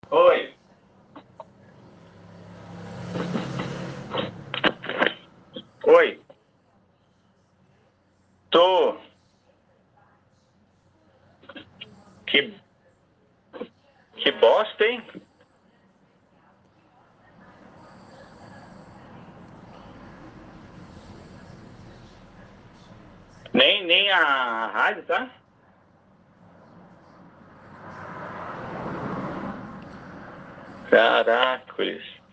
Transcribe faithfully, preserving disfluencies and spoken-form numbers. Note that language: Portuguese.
Oi, oi, tô. Que, que bosta, hein? Nem, nem a rádio, tá? Caracoles.